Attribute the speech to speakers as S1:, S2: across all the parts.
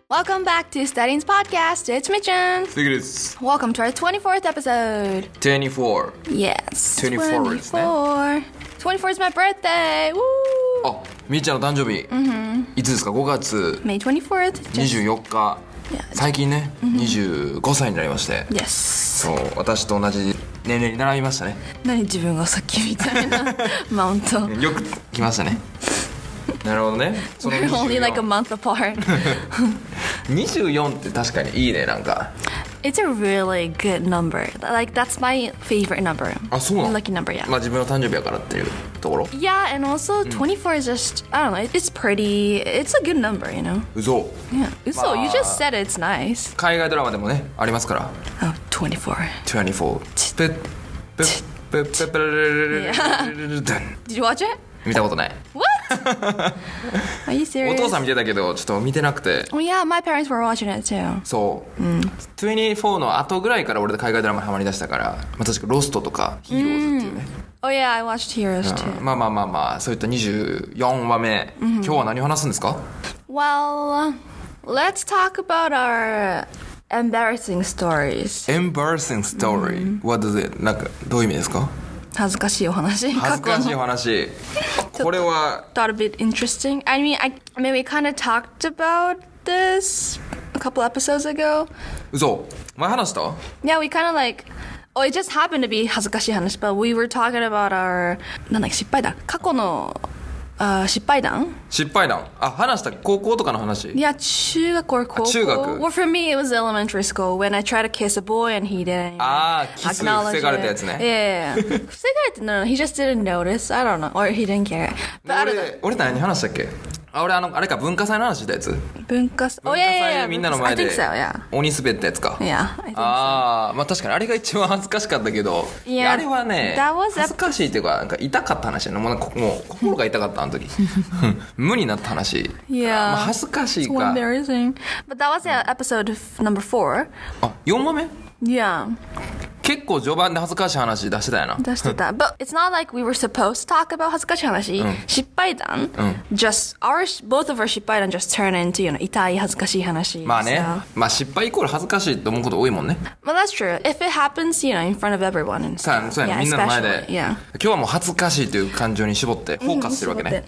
S1: Welcome back to Studying's podcast. It's Mitchun.
S2: 次です。
S1: Welcome to our 24th episode.
S2: 24
S1: Yes.
S2: 24ですね。
S1: 24 is my birthday. Woo!
S2: あ、みーちゃんの誕生日、いつですか？5月
S1: May 24th.
S2: 24日、最近ね、25歳になりまして、
S1: Yes.
S2: そう、私と同じ年齢に並びましたね。
S1: 何自分がさっきみたいなマウント。
S2: よく来ましたね。なるほどね。その
S1: We're only like a month apart.
S2: 24って確かにいいね、なんか。
S1: It's a really good number. Like that's my favorite number.
S2: あ、そうなの？
S1: Lucky number, yeah.
S2: まあ自分の誕生日やからっていうところ。
S1: Yeah, and also 24 is just, I don't know, it's pretty. It's a good number, you know?
S2: 嘘。
S1: Yeah. So you just said it's nice.
S2: 海外ドラマでもね、ありますから。
S1: Oh, 24.
S2: 24。ペッペッペッペッペル
S1: Did you watch it?
S2: 見たことない。
S1: What? Are you
S2: お
S1: serious?
S2: 父さん見てたけどちょっと見てなくて。
S1: Oh yeah, my parents were watching it too.
S2: そう、24の後ぐらいから俺で海外ドラマハマりだしたから、まあ、確かロストとかヒーローズっていうね、
S1: Oh yeah, I watched Heroes too.
S2: まあまあまあまあそういった24話目、今日は何を話すんですか？
S1: Well, let's talk about our embarrassing stories.
S2: Embarrassing story、What does it? なんかどういう意味ですか？
S1: 恥ずかしいお話。
S2: 恥ずかしいお話。これは
S1: Thought a bit interesting. I mean, we kind of talked about this a couple episodes ago.
S2: 嘘？前話した？
S1: Yeah, we kind of like, oh, it just happened to be 恥ずかしい話, but we were talking about our なんだっけ、失敗談。過去の失敗談。
S2: 失敗談。あ、話した高校とかの話。
S1: いや、中学 or 高校。
S2: 中学。
S1: Well, for me, it was elementary school when I tried to kiss a boy and he didn't.
S2: ああ、キス防がれたやつね。
S1: Yeah. 防がれて no, he just didn't notice. I don't know. Or he didn't care. But
S2: 俺何話したっけ？あ、俺あれか文化祭の話したやつ。
S1: 文化祭。
S2: 文化祭でみんなの前で
S1: I think so, yeah.
S2: 鬼滑ったやつか。
S1: Yeah, I think so.
S2: ああ、まあ確かにあれが一番恥ずかしかったけど、いやあれはね、恥ずかしいっていうか、なんか痛かった話やな。もう心が痛かったあの時。無になった話。
S1: Yeah.
S2: まあ恥ずかしい
S1: So
S2: か。
S1: embarrassing. But that was episode number 4.
S2: あ、4話目？
S1: Yeah.
S2: 結構序盤で恥ずかしい話出してたよな。
S1: 出してた。But it's not like we were supposed to talk about 恥ずかしい話。失敗談。Just both of our 失敗談 just turn into, you know, 痛い恥ずかしい話。
S2: まあね。
S1: So.
S2: まあ失敗イコール恥ずかしいと思うこと多いもんね。
S1: Well, that's true. If it happens, you know, in front of everyone and
S2: そう
S1: stuff.
S2: やね。みんなの前で。
S1: Yeah.
S2: 今日はもう恥ずかしいという感情に絞ってフォーカスしてるわけね。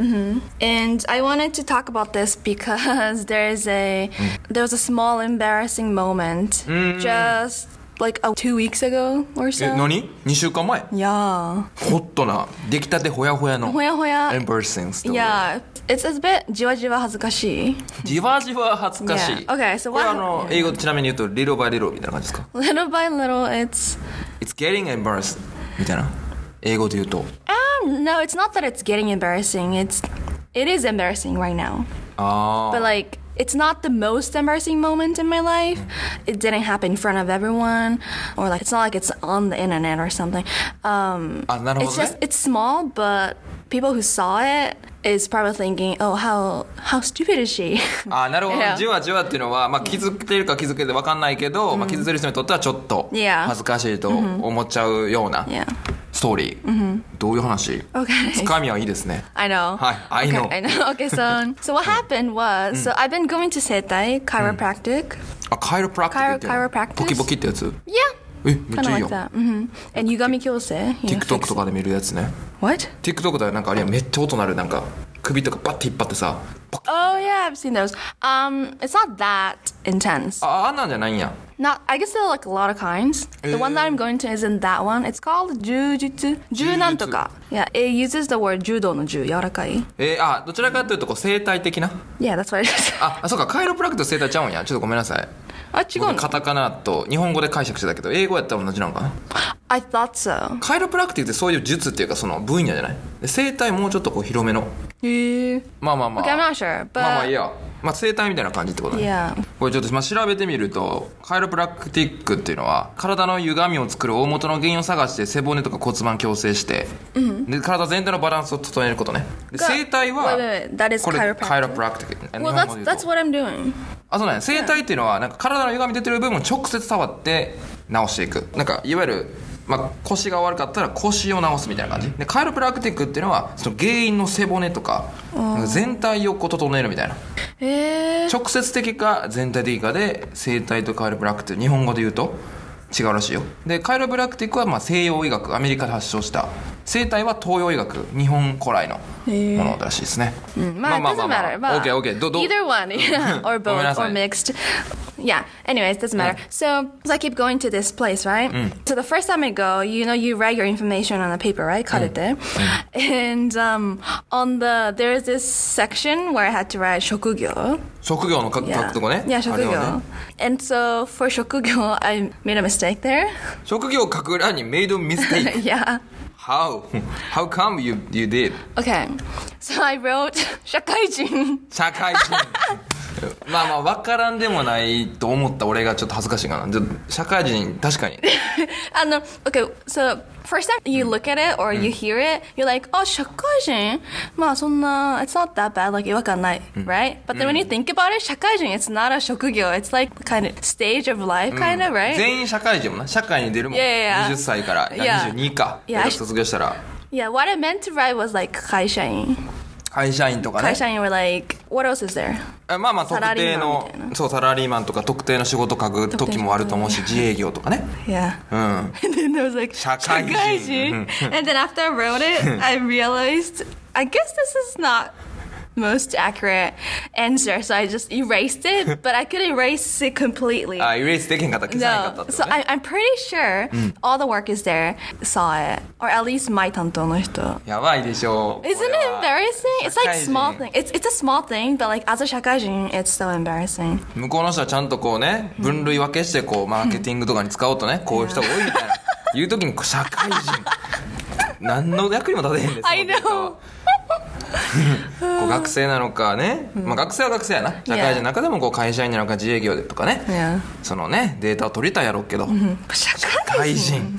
S1: And I wanted to talk about this because there was a small embarrassing moment just like 2 weeks ago or so.
S2: 何 ?2 週間前
S1: Yeah.
S2: ホットな出来たてほやほやの
S1: ほやほや
S2: embarrassing story.
S1: Yeah. It's a bit じわじわ恥ずかしい。
S2: じわじわ恥ずかしい。
S1: Yeah. Okay, so
S2: これ
S1: what?
S2: 英語ちなみに言うと little by little みたいな感じですか？
S1: Little by little, it's
S2: getting embarrassed みたいな。英語で言うと。
S1: no, it's not that it's getting embarrassing. It is embarrassing right now.
S2: あ
S1: But like, it's not the most embarrassing moment in my life. It didn't happen in front of everyone, or like it's not like it's on the internet or something.
S2: あ、なるほどね。
S1: It's just it's small, but people who saw it is probably thinking, oh, how stupid is she?
S2: あ、なるほど。
S1: Yeah.
S2: じわじわっていうのは、まあ、気づけてるか気づけて分かんないけど、まあ、気づいてる人にとってはちょっと
S1: Yeah.
S2: 恥ずかしいと思っちゃうような
S1: Yeah.
S2: ストーリー。どういう話？
S1: Okay.
S2: つかみはいいですね。
S1: I know.
S2: Hi, I know.
S1: Okay, I know. Okay, so what happened was, so I've been going to Setai chiropractic.
S2: あ、カイロプラクティックっていうの
S1: Chiropractic?
S2: ポキポキってやつ？
S1: Yeah.
S2: めっち
S1: Kind
S2: ゃ
S1: of
S2: いい
S1: like
S2: よ。
S1: that. And Yugami Kyose.
S2: TikTok とかで見るやつね。
S1: What?
S2: TikTok でなんかあれやめっちゃ音鳴るなんか首とかバッて引っ張ってさ。
S1: Oh yeah, I've seen those. It's not that intense.
S2: あんなんじゃないんや。
S1: I guess there are like a lot of kinds. The one that I'm going to isn't that one. It's called Jujutsu. Ju-nan-to-ka. Yeah, it uses the word judo no ju, 柔らかい.
S2: どちらかというとこう生態的な。
S1: Yeah, that's what it is.
S2: あ、そうか、カイロプラクティック生態ちゃうんや。ちょっとごめんなさい。
S1: あ、違うの？
S2: 僕カタカナと日本語で解釈してたけど、英語やったら同じなのかな。
S1: I thought so.
S2: カイロプラクティックってそういう術っていうかその分野じゃない。で生態もうちょっとこう広めの。
S1: へえ。
S2: まあまあまあ。
S1: Okay, I'm not sure, but
S2: まあまあいいや。まあ生態みたいな感じってことね。
S1: Yeah.
S2: これちょっと調べてみると、カイロプラクティックっていうのは体の歪みを作る大元の原因を探して背骨とか骨盤矯正して、で体全体のバランスを整えることね。で生態は
S1: Wait, that is
S2: これ
S1: chiropractic.
S2: カイロプラクティック。
S1: Well, that's what I'm doing.
S2: あ、そうね。生態っていうのはなんか体の歪み出てる部分を直接触って直していく。なんかいわゆる腰が悪かったら腰を治すみたいな感じで、カイロプラクティックっていうのはその原因の背骨とか全体をこう整えるみたいな、直接的か全体的かで整体とカイロプラクティック、日本語で言うと違うらしいよ。でカイロプラクティックは西洋医学、アメリカで発祥した。整体は東洋医学、日本古来のものらしいですね。
S1: まあ it doesn't matter.
S2: Okay.
S1: Either one, or both, or mixed. Yeah. Anyways, doesn't matter. So I keep going to this place, right? So the first time I go, you write your information on a paper, right? カルテ. And there's this section where I had to write 職業.
S2: 職業の書くとこね。
S1: Yeah, 職業。And so for 職業, I made a mistake there.
S2: 職業を書く欄に made a mistake.
S1: Yeah.
S2: How come you did?
S1: Okay. So I wrote 社会人。
S2: 社会人。分からんでもないと思った俺がちょっと恥ずかしいかな。社会人、確かに。
S1: Okay, so first time you look at it or you hear it, you're like, oh, 社会人? そんな, it's not that bad, like 違和感ない, right? But then when you think about it, 社会人, it's not a 職業, it's like kind of stage of life, kind of, right?
S2: 全員社会人もな、社会に出るもん。20歳から、22か。卒業したら。
S1: Yeah, what I meant to write was like 会社員。
S2: 会社員とかね。
S1: 会社員 were like, what else is there?
S2: 特定の、そう、サラリーマンとか特定の仕事書く時もあると思うし、自営業とかね。
S1: Yeah. And then there was like, 社会人。And then after I wrote it, I realized, I guess this is not most accurate answer, so I just erased it, but I could erase it completely.
S2: Erase できへんかった、消さなかったってことね。
S1: So I'm pretty sure all the workers there saw it, or at least my 担当の人。
S2: やばいでしょ。
S1: Isn't it embarrassing? It's like small thing. It's a small thing, but like as a 社会人, it's so embarrassing.
S2: 向こうの人はちゃんとこうね、分類分けしてこうマーケティングとかに使おうとね、こういう人が多いみたいな。言う時に社会人。何の役にも立てへんですよ。
S1: I know.
S2: こう学生なのかね、学生は学生やな、社会人の中でもこう会社員なのか自営業でとかね、そのねデータを取りたいやろうけど、
S1: 社会人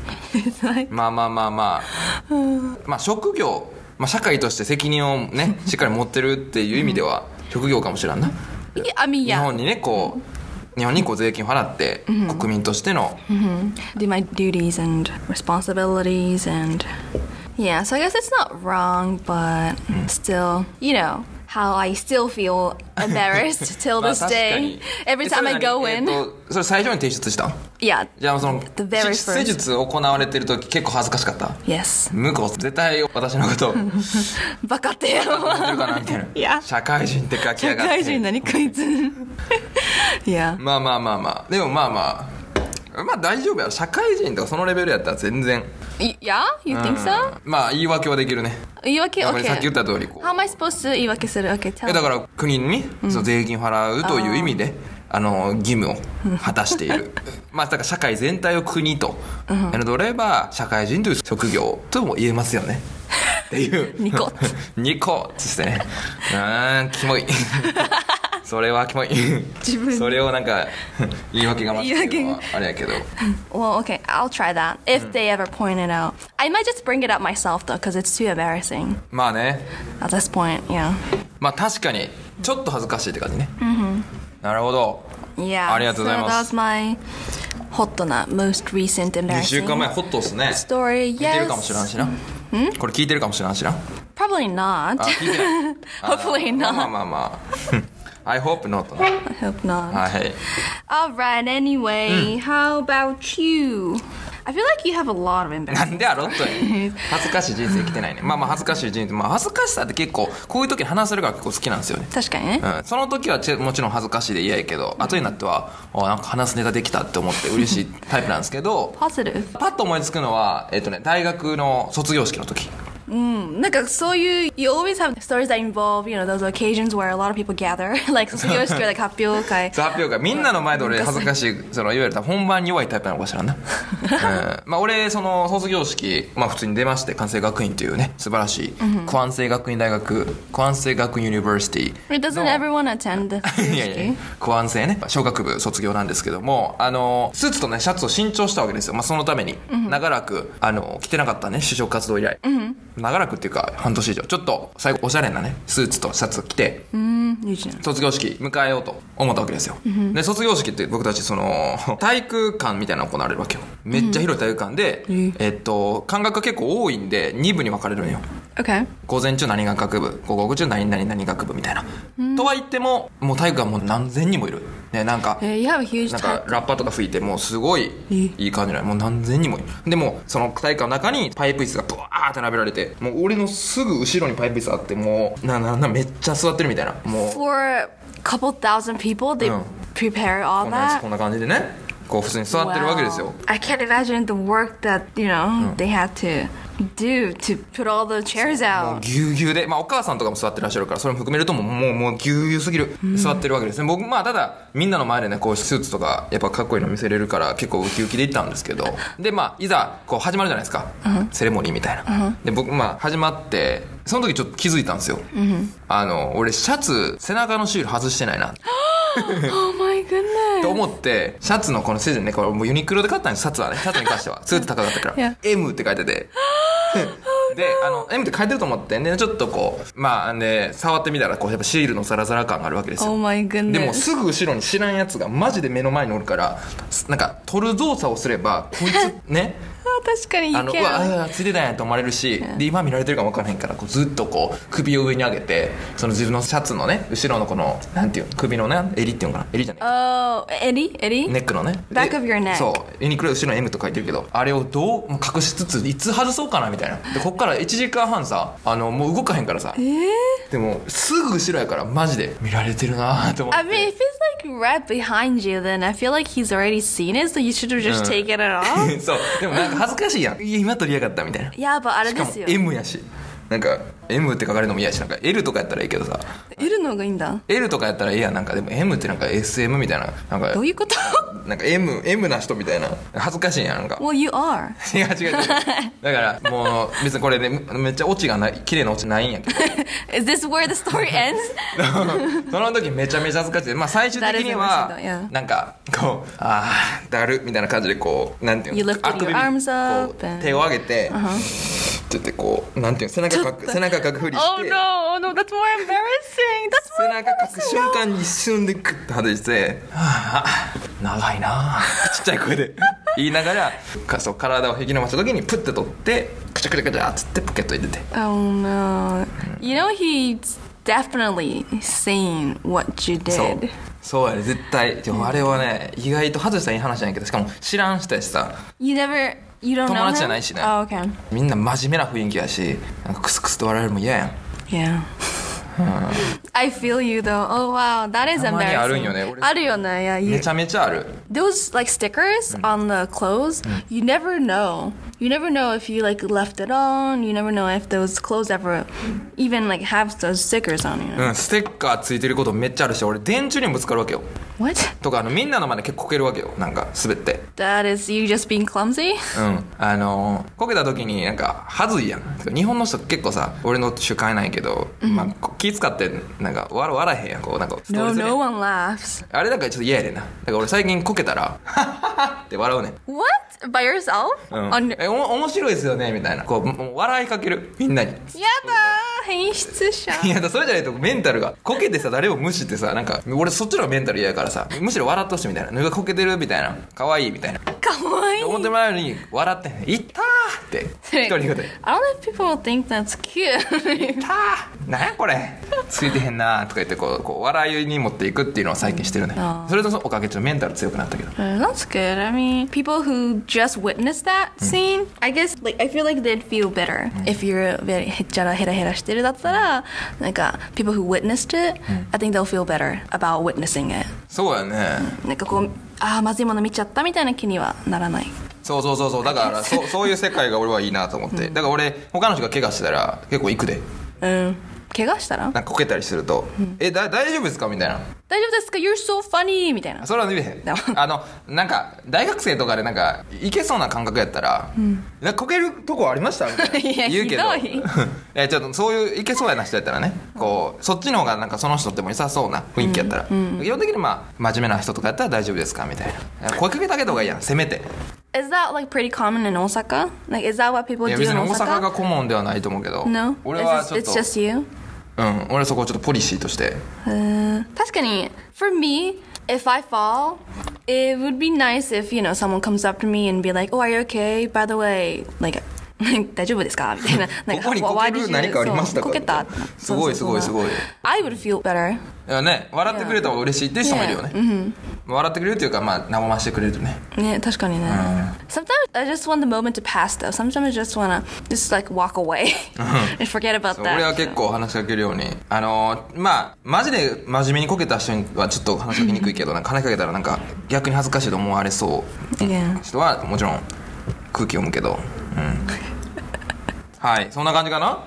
S2: 職業、社会として責任をねしっかり持ってるっていう意味では職業かもしれんな。日本にねこう税金を払って国民としての
S1: Do my duties and responsibilities and yeah, so I guess it's not wrong, but still, how I still feel embarrassed till this day. Every time I go in.
S2: それ最初に提出したん？
S1: Yeah.
S2: じゃあその
S1: the very first.
S2: 施術行われてる時結構恥ずかしかった？
S1: Yes.
S2: 向こう絶対私のこと
S1: バカってよ。
S2: 思ってるかなみたいな。
S1: いや。
S2: 社会人って書きやがって。
S1: 社会人何こいつ。いや。
S2: でも大丈夫や。社会人とかそのレベルやったら全然。
S1: Yeah? You think so?
S2: 言い訳はできるね。
S1: 言い訳 OK。
S2: さっき言った通りこう。
S1: How am I supposed to 言い訳する ?OK, tell me.
S2: だから国にその税金を払うという意味で、義務を果たしている。だから社会全体を国と取れば社会人という職業とも言えますよね。っていう。
S1: ニコ
S2: っつってね。キモい。それはキモい。それをなんか言い訳がましいっていうのはあれやけど。
S1: Well, okay, I'll try that if they ever point it out. I might just bring it up myself though, because it's too embarrassing.
S2: ね。
S1: At this point, yeah.
S2: 確かにちょっと恥ずかしいって感じね。なるほど。
S1: Yeah.
S2: ありがとうございます。
S1: So that was my ホットな most recent embarrassing
S2: 2週間前ホットっすね。
S1: story. Yes.
S2: 聞いてるかもしれんしな。これ聞いてるかもしれんしな。
S1: Probably not.
S2: 聞いてない。
S1: Hopefully not.
S2: I hope not.
S1: I hope not.
S2: はい。
S1: Alright, anyway, how about you? I feel like you have a lot of embarrassing.
S2: なんでやろっと恥ずかしい人生生きてないね。恥ずかしい人生、恥ずかしさって結構こういう時に話せるから結構好きなんですよね。
S1: 確かにね。
S2: その時はもちろん恥ずかしいで嫌やけど、後になってはなんか話すネタできたって思って嬉しいタイプなんですけど。
S1: Positive.
S2: パッと思いつくのは大学の卒業式の時。
S1: なんかそういう you always have stories that involve, those occasions where a lot of people gather, like 卒業式 or like 発表会。
S2: 発表会。みんなの前で俺恥ずかしい、いわゆる本番に弱いタイプなのかしらんな。俺、その卒業式、普通に出まして、関西学院というね、素晴らしい、関西学院大学、関西学院ユニバーシティ。
S1: Doesn't everyone attend the 卒業式？
S2: 関西ね、小学部卒業なんですけども、スーツとね、シャツを新調したわけですよ。そのために、長らく、着てなかったね、就職活動以来。 長らくっていうか半年以上ちょっと最後おしゃれなねスーツとシャツ着て卒業式迎えようと思ったわけですよ、で卒業式って僕たちその体育館みたいなの行われるわけよ。めっちゃ広い体育館で、間隔が結構多いんで2部に分かれるのよ。
S1: Okay.
S2: 午前中何学部、午後中何々学部みたいな、とは言ってももう体育館もう何千人もいる、ね、なんか、
S1: you have a huge
S2: なんかラッパとか吹いてもうすごいいい感じなの。もう何千人もいる。でもその体育館の中にパイプ椅子がブワーって並べられて、もう俺のすぐ後ろにパイプ椅子あって、もうめっちゃ座ってるみたいな。もう
S1: For a couple thousand people they prepare all that.
S2: こんな感じでね、こう普通に座ってるわけですよ。
S1: I can't imagine the work that they had to do to put all the chairs out.
S2: もうぎゅうぎゅうで、お母さんとかも座ってらっしゃるからそれも含めるともうぎゅうぎゅうすぎる、座ってるわけですね。僕ただみんなの前でねこうスーツとかやっぱかっこいいの見せれるから結構ウキウキで行ったんですけど、でいざこう始まるじゃないですか、セレモニーみたいな、で僕始まってその時ちょっと気づいたんですよ、俺シャツ背中のシール外してないな
S1: Oh my goodness.
S2: と思ってシャツのこのセジね、これもうユニクロで買ったんです。シャツはね、シャツに関してはスーツ高かったから、M って書いててでM って書いてると思ってね、ちょっとこうで触ってみたらこうやっぱシールのザラザラ感があるわけですよ。
S1: Oh my goodness.
S2: でもすぐ後ろに知らんやつがマジで目の前におるから、なんか取る動作をすればこいつね
S1: 確かに
S2: うわついてたんやと思われるし、で今見られてるかも分からへんからこうずっとこう首を上に上げて、その自分のシャツのね後ろのこのなんていうの首のね襟っていうのかな、襟じゃない、
S1: 襟
S2: ネックのね
S1: Back of your neck。
S2: そうユニクロ後ろに M と書いてるけど、あれをどう隠しつついつ外そうかなみたいな。でこっから1時間半さもう動かへんからさ、でもすぐ後ろやからマジで見られてるなと思って。
S1: I mean if it's like right behind you then I feel like he's already seen it so you should have just taken it off
S2: そうでもなんか恥ずかしいやん、今撮りやがったみたいな。
S1: いやあれですよ、
S2: しかも M やし、なんか M って書かれるのも嫌やし、なんか L とかやったらいいけどさ、
S1: L の方がいいんだ。
S2: L とかやったらいいやん。なんかでも M ってなんか SM みたいな、なんか
S1: どういうこと
S2: なんか M な人みたいな、恥ずかしいやんなんか。
S1: Well you are
S2: 違うだからもう別にこれねめっちゃオチがない綺麗なオチないんやけど
S1: Is this where the story ends?
S2: その時めちゃめちゃ恥ずかしい。最終的にはなんかこうだるみたいな感じでこうなんていうの、
S1: あくび
S2: 手を上げてって言ってこうなんていうの、背中かくふりして
S1: Oh no, that's more embarrassing. That's
S2: 背
S1: more
S2: 中かく瞬間に一瞬でクッと外して長いなちっちゃい声で言いながらそう体を引き伸ばした時にプッて取ってクチャクチャクチャっつってポケットに入れて
S1: Oh no. You know he's definitely seen what you did.
S2: そうやね絶対。でもあれはね意外と外したらいい話じゃないけど、しかも知らん人やしさ、
S1: You don't know him?
S2: 友達じゃないしね、
S1: okay.
S2: みんな真面目な雰囲気やし、なんかクスクスと笑われるのも嫌やん。
S1: Yeah. I feel you though. Oh wow, that is
S2: たまに
S1: embarrassing.
S2: あるんよね俺。
S1: あるよね。Yeah,
S2: めちゃめちゃある。
S1: those like stickers on the clothes, you never know. You never know if you like left it on. You never know if those clothes ever even like have those stickers on you.
S2: ステッカーついてることめっちゃあるし、俺電柱にもぶつかるわけよ。
S1: What?
S2: とかみんなの前で結構こけるわけよ、なんか滑って。
S1: That is you just being clumsy?
S2: こけた時になんか恥ずいやん。日本の人結構さ、俺の主観ないけど、気使ってなんか笑えへんやん、こうなんかストレ
S1: No,
S2: スで
S1: no one laughs.
S2: あれだからちょっと嫌やねんな。だから俺最近こけたらハッハッハって笑うねん。
S1: What? By yourself?
S2: 面白いですよねみたいな、こうもう笑いかけるみんなに。
S1: やだー、変質者。
S2: いやだそれじゃないとメンタルがこけてさ、誰を無視ってさ、なんか俺そっちのメンタル嫌やからさ、むしろ笑ってほしいみたいな、脱がこけてるみたいな、可愛いみたいな、
S1: かわいい。
S2: 思ってもらえるように笑って「いったー!」って一人言うて「
S1: I don't know if people think that's cute.
S2: いったーなんやこれついてへんな」とか言ってこう笑いに持っていくっていうのを最近してるね。それとおかげでちょっとメンタル強くなったけど。
S1: That's good. I mean, people who just witnessed that scene, I guess, like, I feel like they'd feel better if you're very へっちゃらヘラヘラしてるだったら、なんか people who witnessed it, I think they'll feel better about witnessing it.
S2: そうやね。
S1: なんかこう、まずいもの見ちゃったみたいな気にはならない。
S2: そうだからそういう世界が俺はいいなと思って、だから俺他の人が怪我したら結構行くで。
S1: 怪我したら
S2: なんかこけたりすると「大丈夫ですか?」みたいな。
S1: 大丈夫ですか You're so funny みたいな。
S2: それは言えへん。なんか大学生とかでなんかいけそうな感覚やったら「なんかこけるとこありました?」みたいな言うけど
S1: ひどい
S2: ちょっとそういういけそうやな人やったらね、こうそっちの方がなんかその人っても良さそうな雰囲気やったら、基本的に真面目な人とかやったら大丈夫ですかみたいな声かけてあげた方がいいやん、せめて。
S1: Is that like pretty common in Osaka? Like, is that what people do in Osaka?
S2: いや別に大阪が顧問ではないと思うけど。
S1: No?
S2: 俺はちょっと。
S1: It's just you?
S2: うん、俺はそこをちょっとポリシーとして。
S1: 確かに、for me, if I fall, it would be nice if, someone comes up to me and be like, oh, are you okay? By the way, like, 大丈夫ですかみたいな。
S2: ここにこける何かありましたか？
S1: こけた。
S2: すごいすごいすごい。
S1: I would feel better.
S2: いやね、笑ってくれた方が嬉しいって人もいるよね。笑ってくれるっていうか、まあ、和ましてくれるとね。
S1: ね、確かにね。Sometimes I just want the moment to pass though. Sometimes I just wanna just like walk away and forget about that.
S2: 俺は結構話しかけるように。まあ、マジで真面目にこけた人にはちょっと話しかけにくいけど、話しかけたらなんか逆に恥ずかしいと思われそう人はもちろん空気読むけど。はい、そんな感じかな。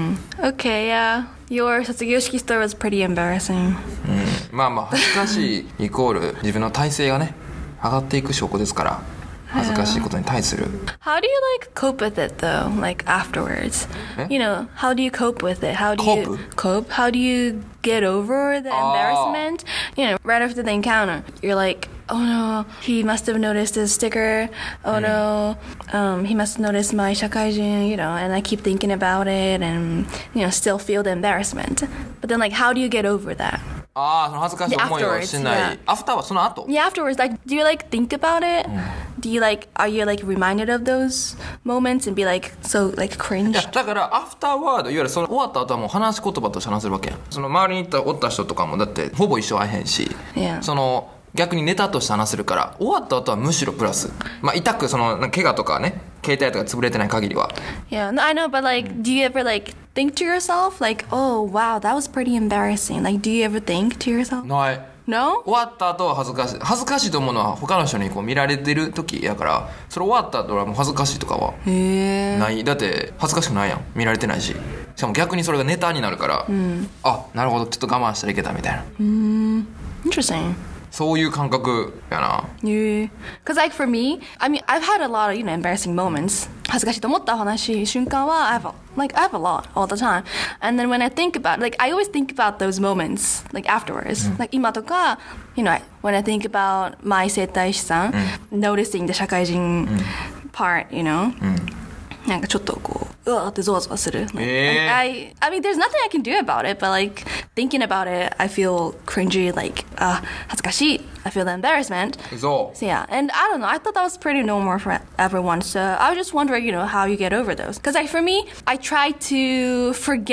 S1: Okay, yeah. Your 卒業式 story was pretty embarrassing.
S2: まあまあ恥ずかしいイコール自分の体勢がね上がっていく証拠ですから。恥ずかしいことに対する。
S1: How do you like cope with it though? Like afterwards, how do you cope with it? How do you cope? How do you get over the embarrassment? Right after the encounter, you're like, oh no, he must have noticed this sticker. Oh no, he must have noticed my 社会人, and I keep thinking about it, and still feel the embarrassment. But then, like, how do you get over that?
S2: その恥ずかしい思いをしない。After はその後。
S1: Yeah, afterwards. Like, do you like think about it? Do you like, are you like reminded of those moments and be like so like cringe?
S2: いやだからアフターワードいわゆるその終わった後はもう話し言葉として話せるわけやん。その周りにおった人とかもだってほぼ一生会えへんし、その逆にネタとして話せるから終わった後はむしろプラス。まあ痛くその怪我とかね、携帯とか潰れてない限りは。
S1: Yeah, no, I know, but like, do you ever like think to yourself like, oh wow, that was pretty embarrassing? Like, do you ever think to yourself?
S2: ない。
S1: No?
S2: 終わった後は恥ずかしい。恥ずかしいと思うのは他の人にこう見られてる時やから、それ終わった後はもう恥ずかしいとかはない。だって恥ずかしくないやん。見られてないし。しかも逆にそれがネタになるから、あ、なるほど、ちょっと我慢したらいけたみたいな。
S1: Interesting.
S2: そういう感覚やな。
S1: Yeah. Because like for me, I mean, I've had a lot of, embarrassing moments. 恥ずかしいと思った話瞬間は I have a lot all the time. And then when I think about, like, I always think about those moments, like, afterwards. Like, 今とか, when I think about my 整体師さん, noticing the 社会人part, なんかちょっとこう、うわーってゾワゾワする。I mean, there's nothing I can do about it, but like, thinking about it, I feel cringy, like, 恥ずかしい. I feel the embarrassment. So yeah, and I don't know, I thought that was pretty normal for everyone, so I was just wondering, how you get over those. Because like, for me, I try to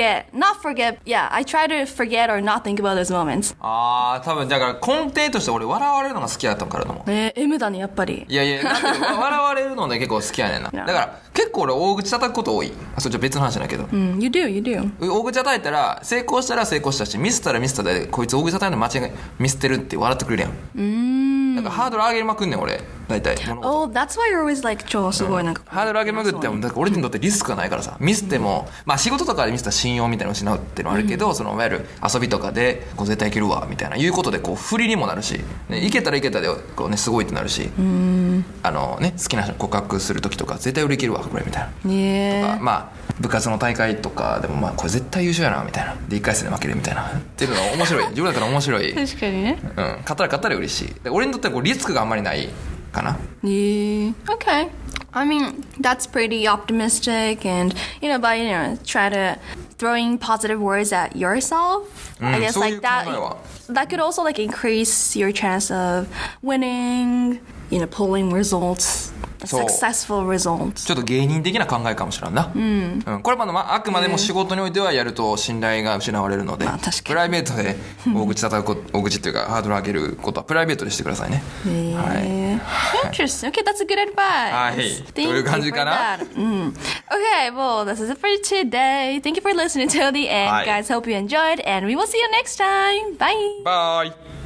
S1: I try to forget or not think about those moments.
S2: 多分だから根底として俺笑われるのが好きだったからだもん。
S1: M だね、やっぱり。
S2: いや、なんで笑われるので結構好きやねんな。だから結構俺大口叩くこと多い。それじゃ別の話だけど。
S1: You do.
S2: 大口叩いたら成功したら成功したし、ミスったらミスったで、こいつ大口叩いの間違いミスってるって笑ってくれるやん。なんかハードル上げまくんねん俺大体。
S1: Oh, that's why you're always like 超すごいなんか。
S2: ハードル上げまくってもだから俺にとってリスクがないからさ、ミスってもまあ仕事とかでミスったら信用みたいなのを失うっていうのはあるけど、そのいわゆる遊びとかでこう絶対いけるわみたいないうことでこう振りにもなるし、いけたらいけたでこうねすごいってなるし、好きな人に告白する時とか絶対売り切るわこれみたいな。とかまあ部活の大会とかでもまあこれ絶対優勝やなみたいなで1回戦で負けるみたいなっていうのが面白い。自分だから面白い。
S1: 確かにね。
S2: 勝ったら嬉しい。で俺にとってはこうリスクがあんまりないかな。
S1: Okay. I mean, that's pretty optimistic and, by, try to throwing positive words at yourself. I guess like that could also like increase your chance of winning, pulling results. Successful results.
S2: ちょっと芸人的な考えかもしれんな。これはあくまでも仕事においてはやると信頼が失われるので、プライベートで大口叩く大口っていうかハードル上げることはプライベートでしてくださいね。
S1: Interesting. Okay, that's a good advice.
S2: はい。という感じかな。
S1: Okay, well, this is it for today. Thank you for listening till the end, guys. Hope you enjoyed, and we will see you next time. Bye.
S2: Bye.